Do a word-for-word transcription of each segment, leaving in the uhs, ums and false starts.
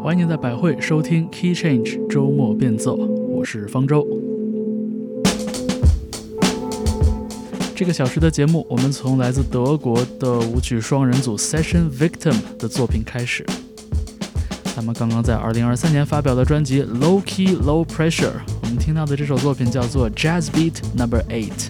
欢迎在百汇收听 Key Change 周末变奏，我是方舟。这个小时的节目，我们从来自德国的舞曲双人组 Session Victim 的作品开始。他们刚刚在二零二三年发表的专辑 Low Key Low Pressure， 我们听到的这首作品叫做 Jazz Beat Number eight。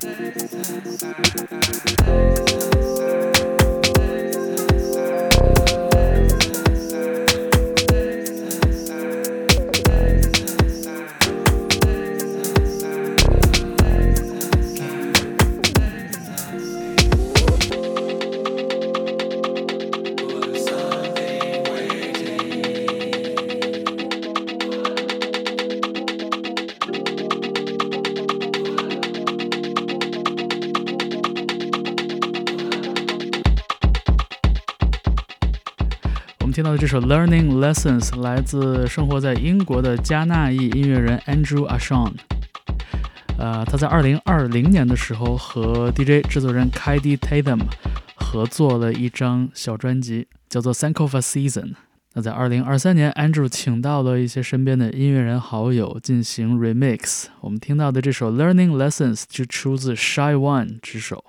听到的这首 Learning Lessons 来自生活在英国的加纳裔音乐人 Andrew Ashon。呃，他在二零二零年的时候和 D J 制作人 Kaidi Tatham 合作了一张小专辑，叫做 Sankofa Season。那在二零二三年 Andrew 请到了一些身边的音乐人好友进行 remix。我们听到的这首 Learning Lessons 就出自 Shy One 之手。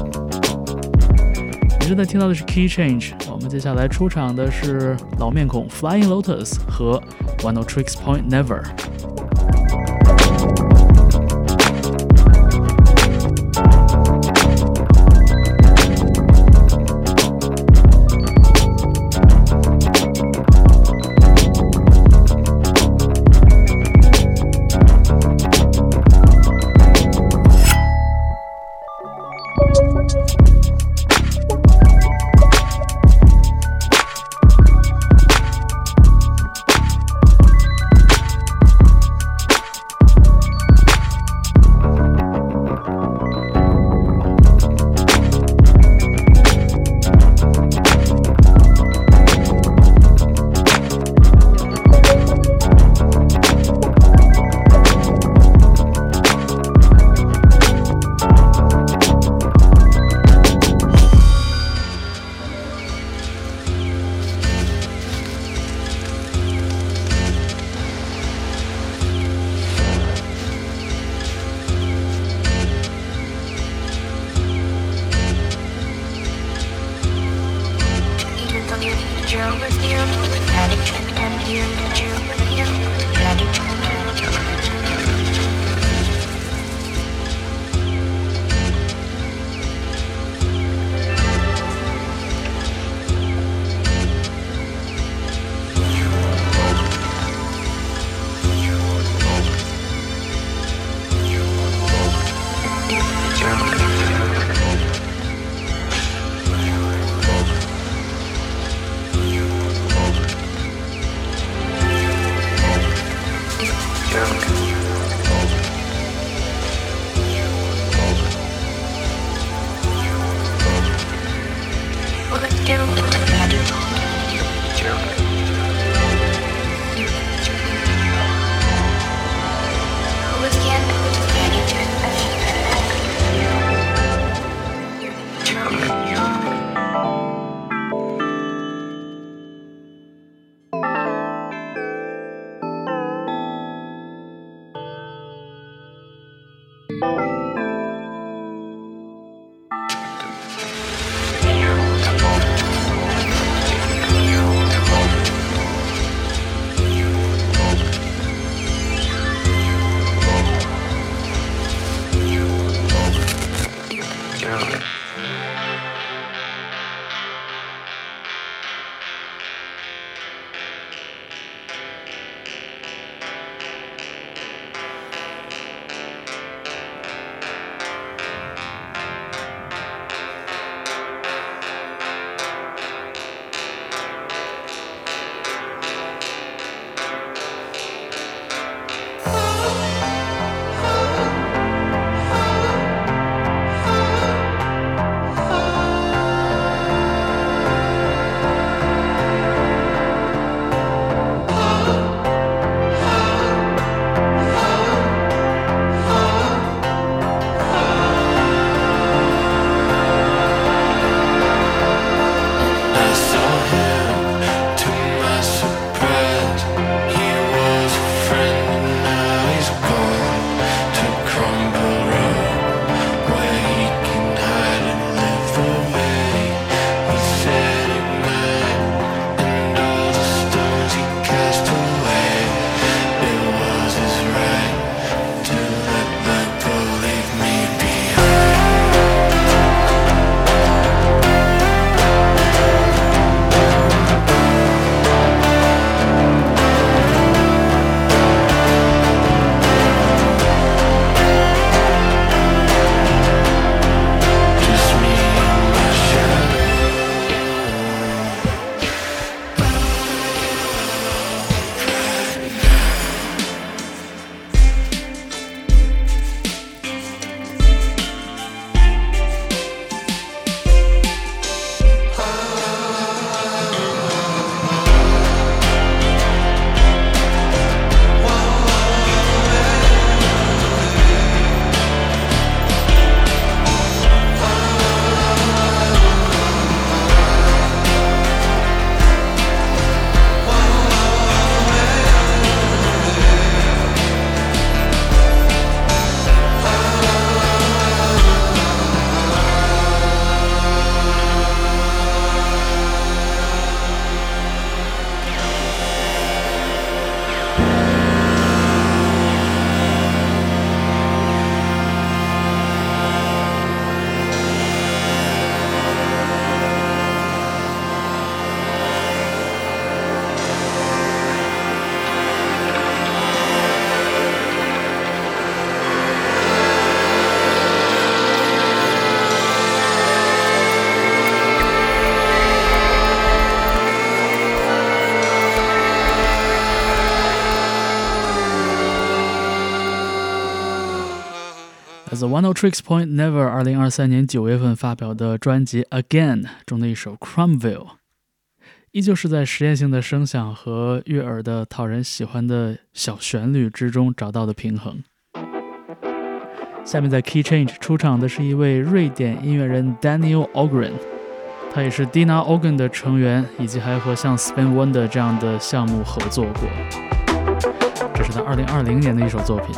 你正在听到的是 Key Change， 我们接下来出场的是老面孔 Flying Lotus 和 Oneohtrix Point Never。 The One O Tricks Point Never 二零二三年九月份发表的专辑 Again 中的一首 Crumville， 依旧是在实验性的声响和悦耳的讨人喜欢的小旋律之中找到的平衡。下面在 Key Change 出场的是一位瑞典音乐人 Daniel Ogren， 他也是 Dina Organ 的成员，以及还和像 Spin Wonder 这样的项目合作过。这是他二零二零年的一首作品。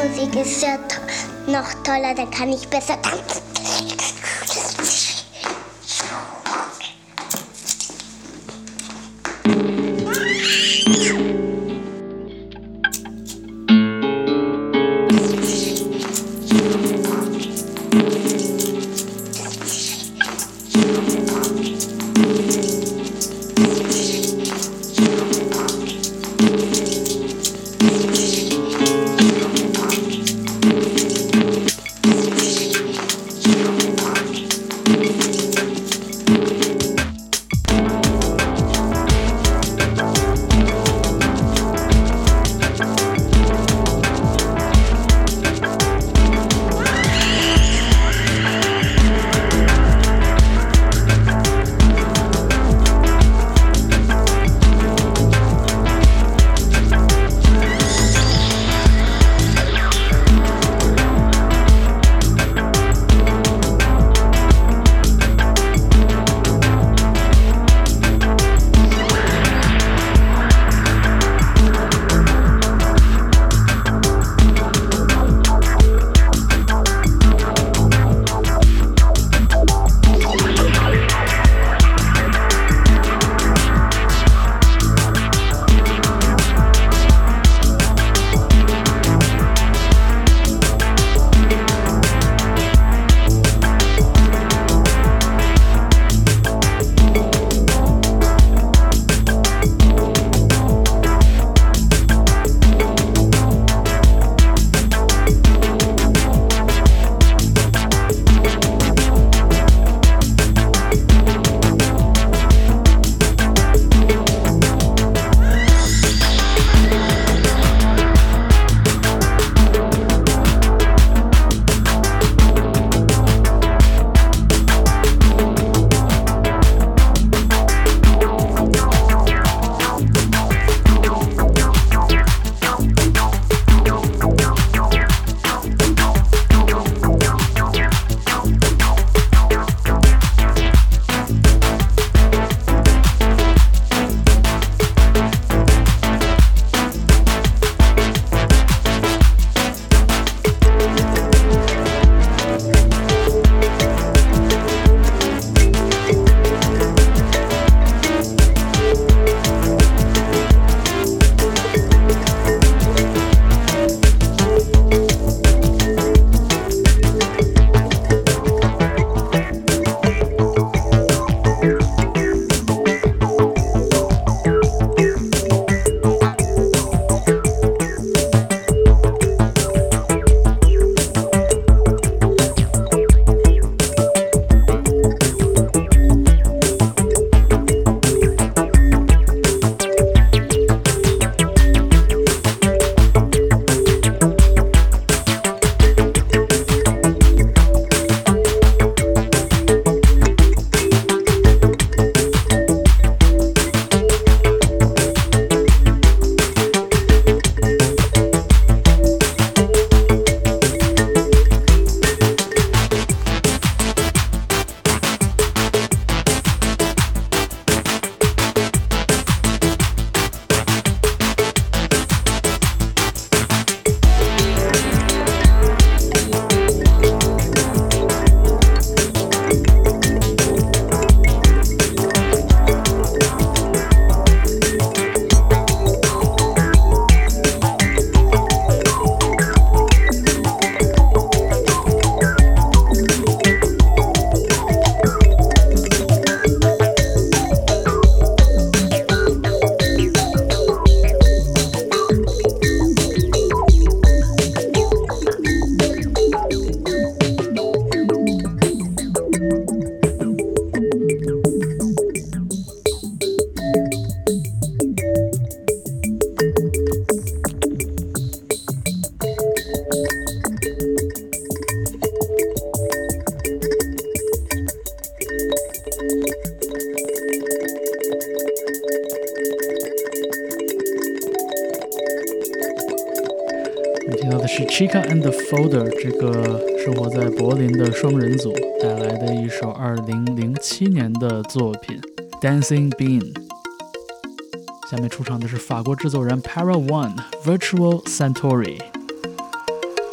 Musik ist ja noch toller, dann kann ich besser tanzen. 是 Chica and the Folder 这个生活在柏林的双人组带来的一首二零零七年的作品 Dancing Bean。 下面出场的是法国制作人 Para One Virtual Centauri。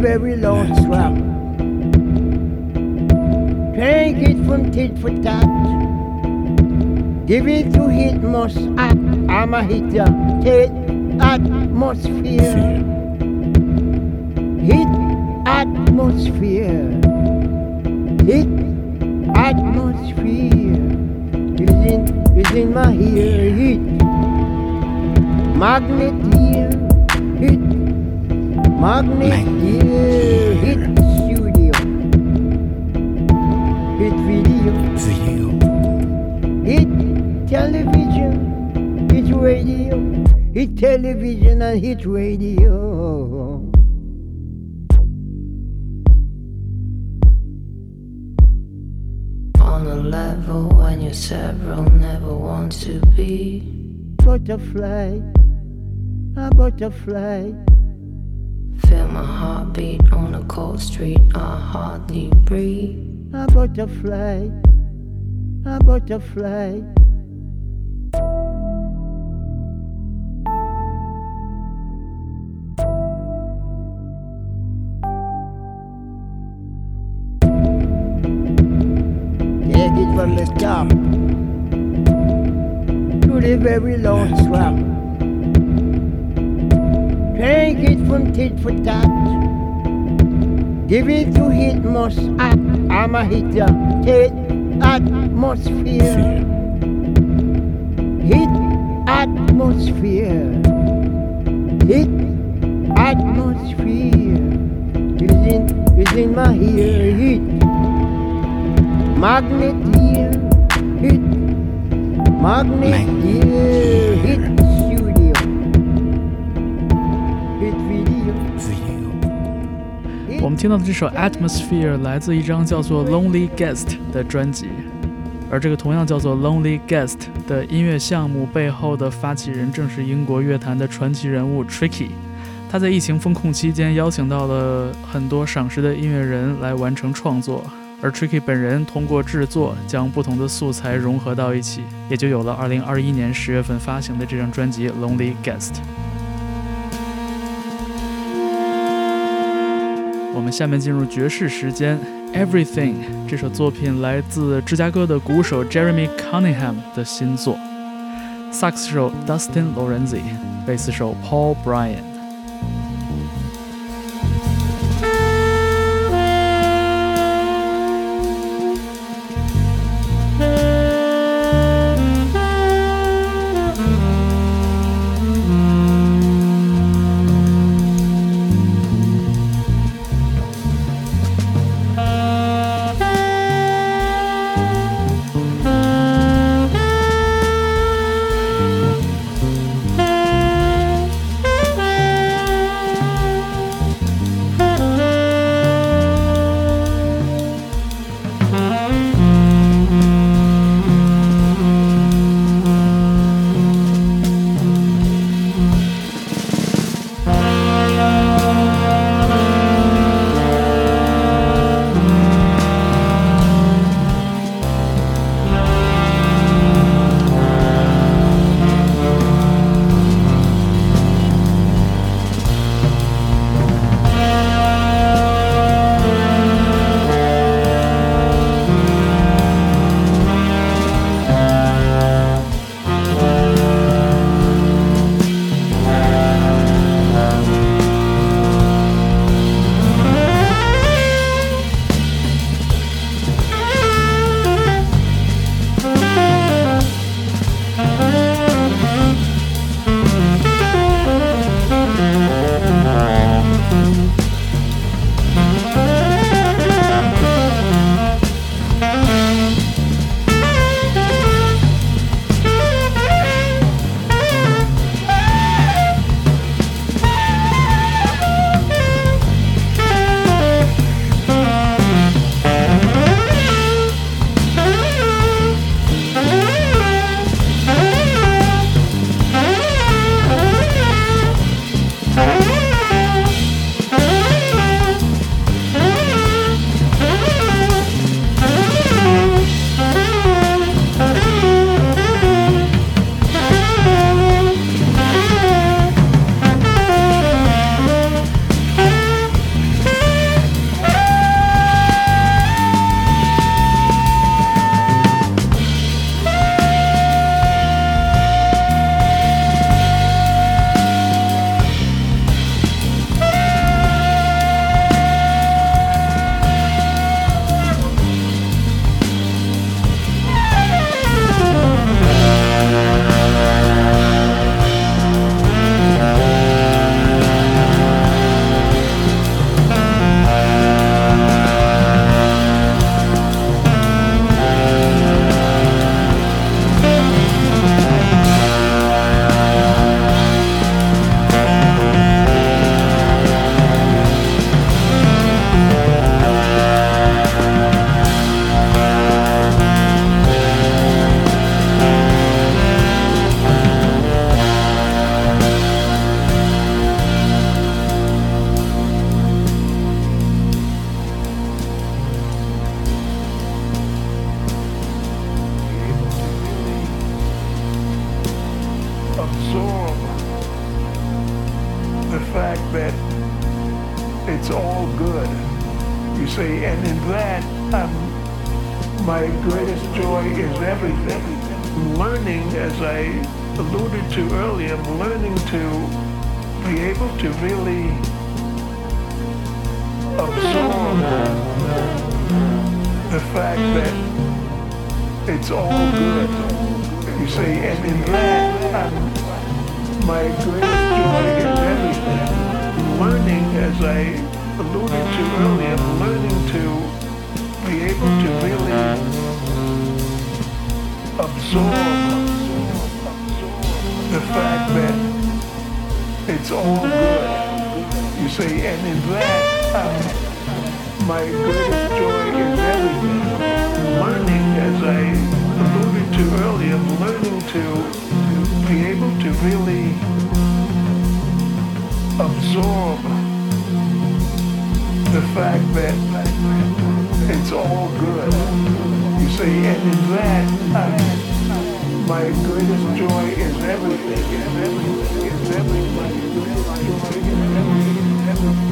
very long swap. Drink it from tit for tat. Give it to hit most. I'm a hitter. Hit atmosphere. Hit atmosphere. Hit atmosphere. Is in, is in my ear. Hit magnet ear. Hit magnet ear. Hit studio. Hit video. Video. Hit television. Hit radio. Hit television and hit radio. On a level when you're several, never want to be Butterfly, a butterfly. Feel my heartbeat on a cold street, I hardly breathe. A butterfly, a butterfly. Take it from the top to the very long swap. Drink it from tit for tat. Give it to hit most. I'm a hitter. Hit atmosphere. Hit atmosphere. Hit atmosphere. Is in, is in my ear. Hit magnet ear. Hit magnet ear. Hit studio. Hit video. Video. 我们听到的这首 Atmosphere 来自一张叫做 Lonely Guest 的专辑，而这个同样叫做 Lonely Guest 的音乐项目背后的发起人正是英国乐坛的传奇人物 Tricky。 他在疫情封控期间邀请到了很多赏识的音乐人来完成创作，而 Tricky 本人通过制作将不同的素材融合到一起，也就有了二零二一年十月份发行的这张专辑 Lonely Guest。 我们下面进入爵士时间 Everything 这首作品来自芝加哥的鼓手 Jeremy Cunningham 的新作，萨克斯手 Dustin Lorenzi， 贝斯手 Paul Bryan。 that it's all good. You see, and in that, um, my greatest joy is everything. Learning, as I alluded to earlier, I'm learning to be able to really absorb the fact that it's all good. You see, and in that, um, my greatest joy is everything. Learning, as I alluded to earlier, learning to be able to really absorb the fact that it's all good. You see, and in that, um, my greatest joy is everything. Learning, as I alluded to earlier, learning to be able to really absorb the fact that it's all good. You see, and in that, um, my greatest joy is everything. Is everything. Is everything. My greatest joy is everything.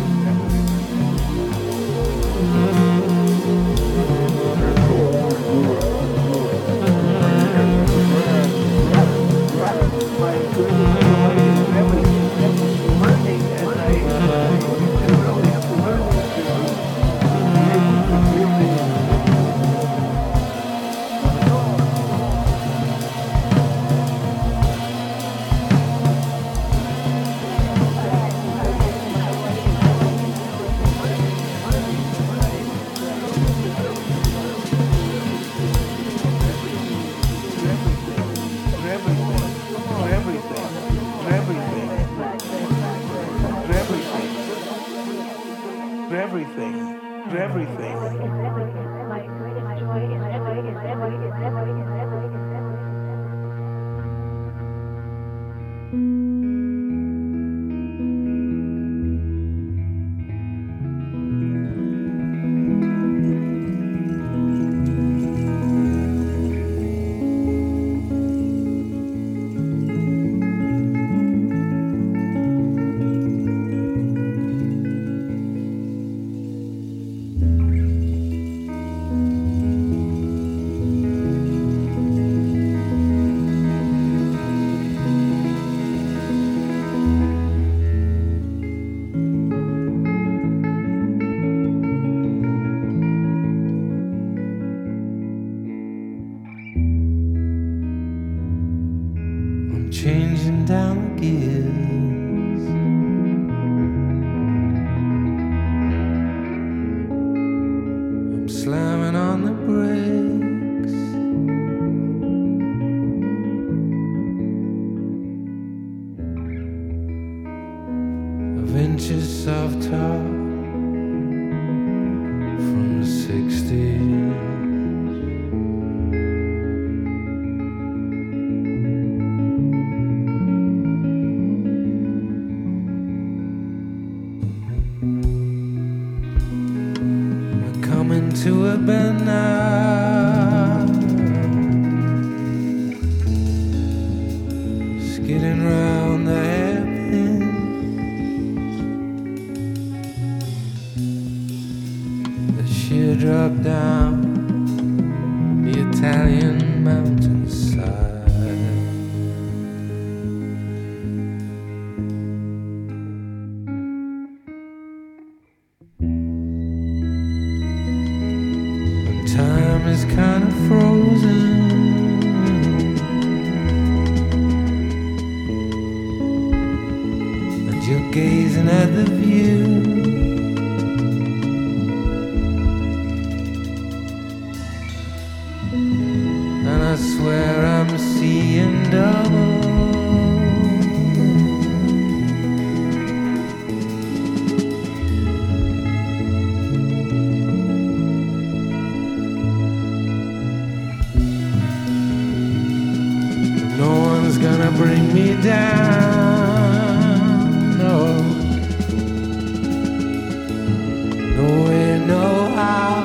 Changing down the gears, I'm slamming on the brakes. Of inches of top from the sixties. To a bend now, skidding round the hairpin. The sheer drop down the Italian mountainside. Time is kind of frozen, and you're gazing at the view. And I swear I'm seeing double. Gonna bring me down, no, no way, no how.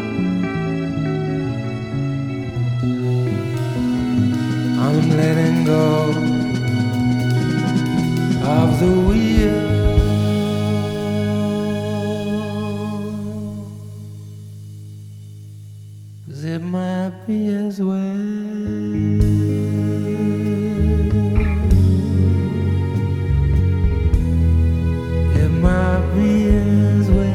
I'm letting go of the wheel. is well. It might be as well.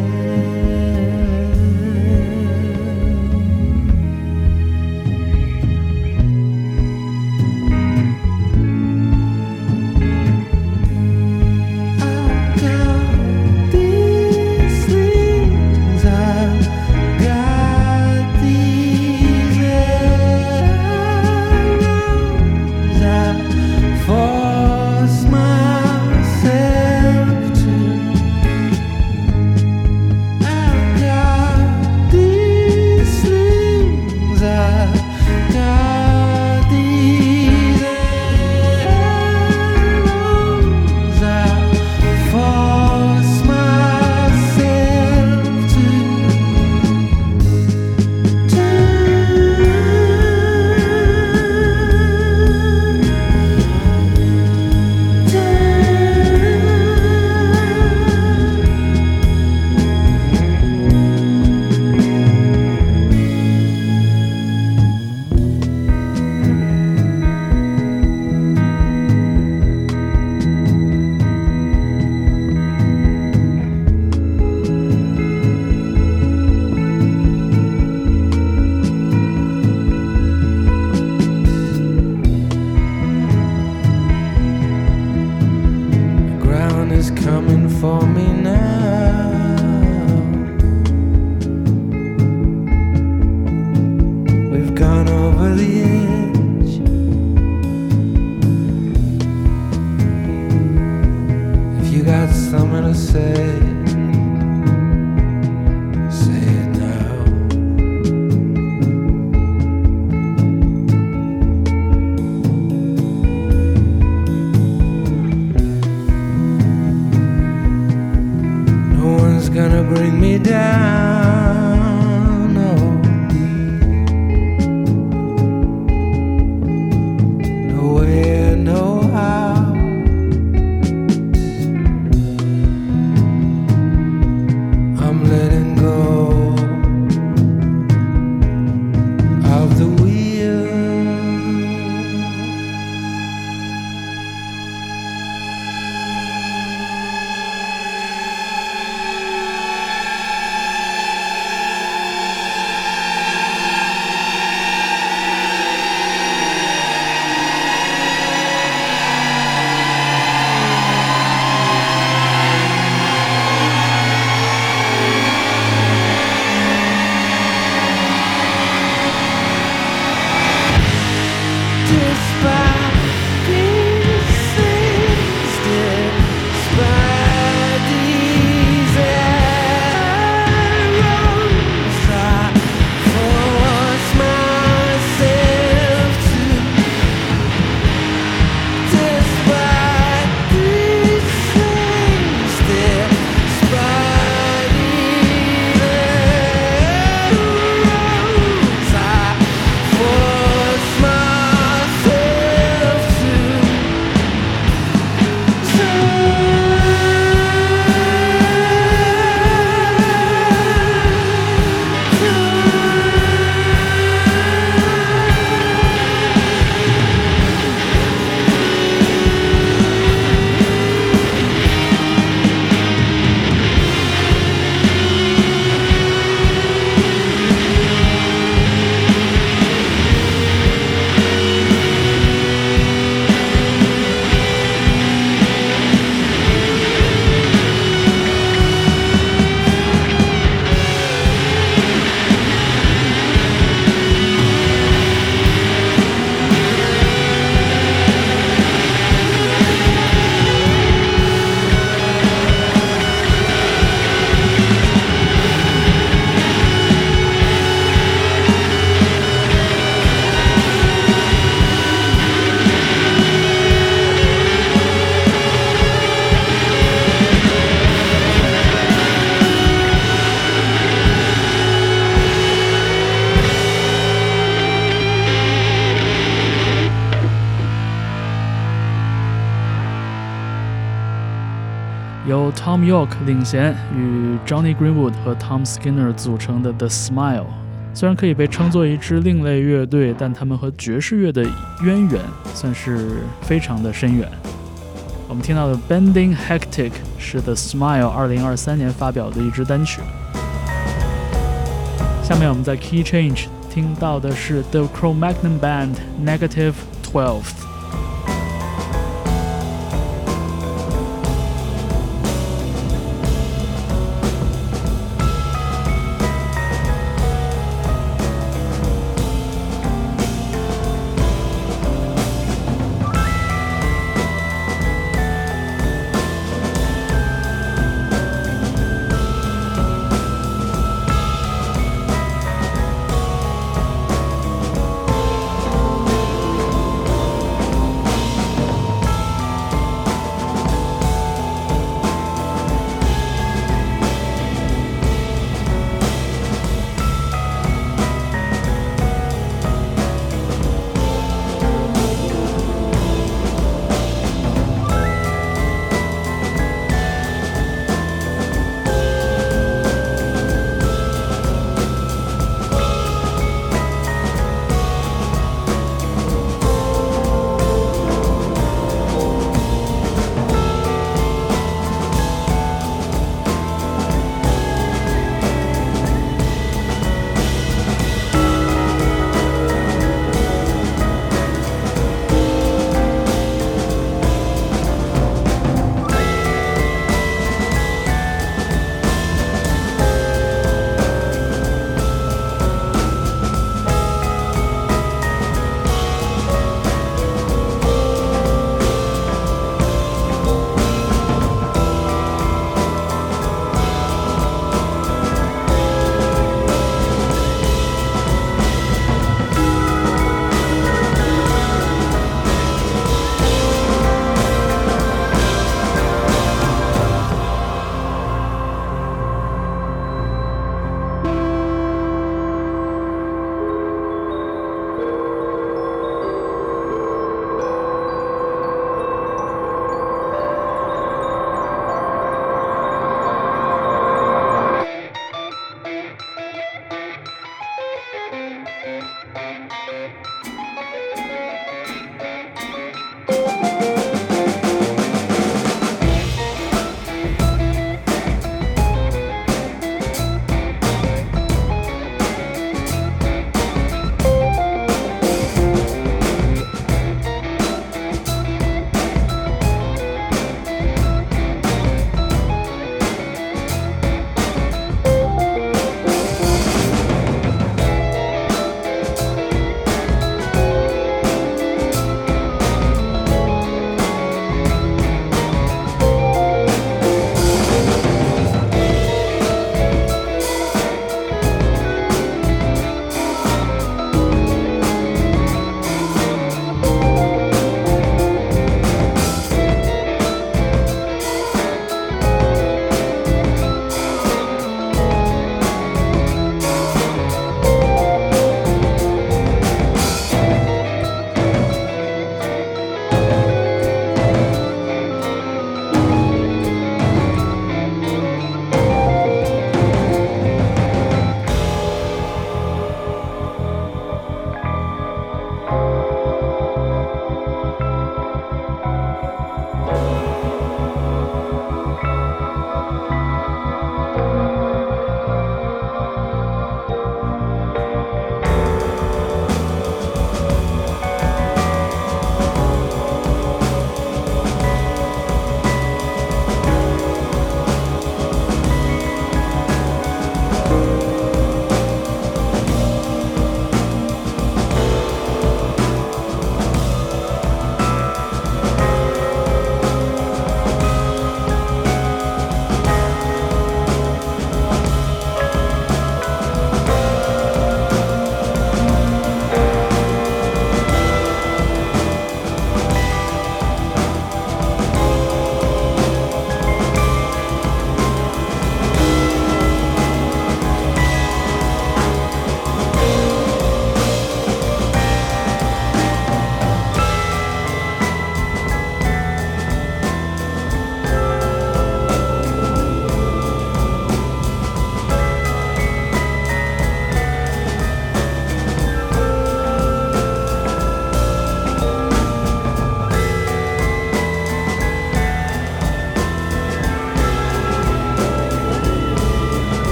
由 Tom York 领衔与 Johnny Greenwood 和 Tom Skinner 组成的 The Smile 虽然可以被称作一支另类乐队，但他们和爵士乐的渊源算是非常的深远。我们听到的 Bending Hectic 是 The Smile 二零二三年发表的一支单曲。下面我们在 Key Change 听到的是 The Cro-Magnon Band Negative twelve。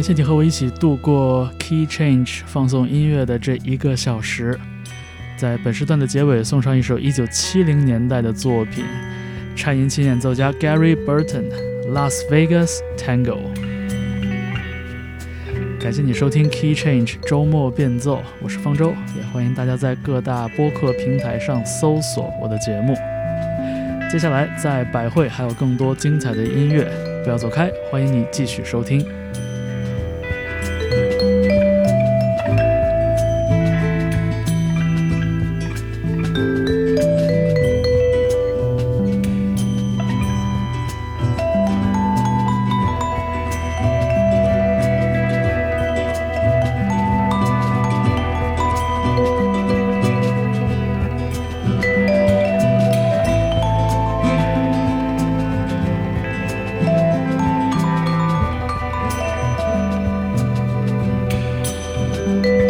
感谢你和我一起度过 Key Change 放送音乐的这一个小时。在本时段的结尾送上一首一九七零年代的作品，颤音琴演奏家 Gary Burton Las Vegas Tango。 感谢你收听 Key Change 周末变奏，我是方舟，也欢迎大家在各大播客平台上搜索我的节目。接下来在百汇还有更多精彩的音乐，不要走开，欢迎你继续收听。 you